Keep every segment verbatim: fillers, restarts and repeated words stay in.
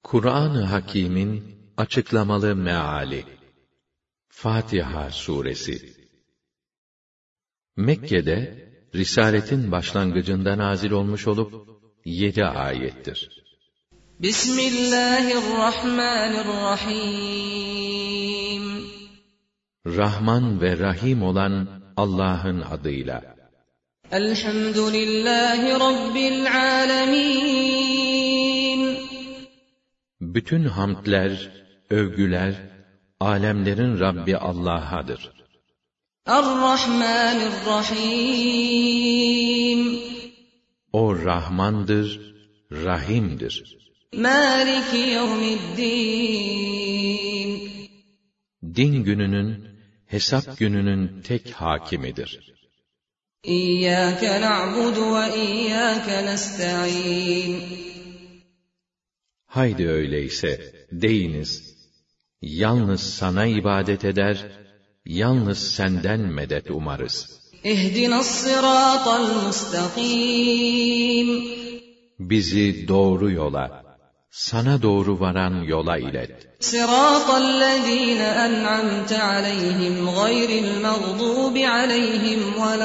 Kur'an-ı Hakîm'in açıklamalı meali. Fatiha Suresi. Mekke'de risaletin başlangıcında nazil olmuş olup yedi ayettir. Bismillahirrahmanirrahim. Rahman ve Rahim olan Allah'ın adıyla. Elhamdülillahi Rabbil alemin. Bütün hamdler, övgüler, alemlerin Rabbi Allah'adır. Er-Rahmanir-Rahim. O Rahmandır, Rahim'dir. Maliki yevmiddin. Din gününün, hesap gününün tek hakimidir. İyyâke na'budu ve iyyâke nesta'in. Haydi öyleyse, deyiniz, yalnız sana ibadet eder, yalnız senden medet umarız. İhdinas-sırâtal mustakîm. Bizi doğru yola, sana doğru varan yola ilet. Sırâtallezîne en'amte aleyhim gayril mağdûbi aleyhim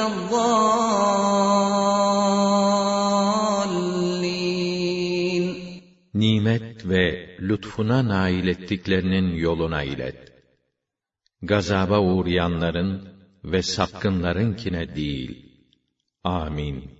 veleddâllîn. Nimet ve lütfuna nail ettiklerinin yoluna ilet. Gazaba uğrayanların ve sapkınlarınkine değil. Amin.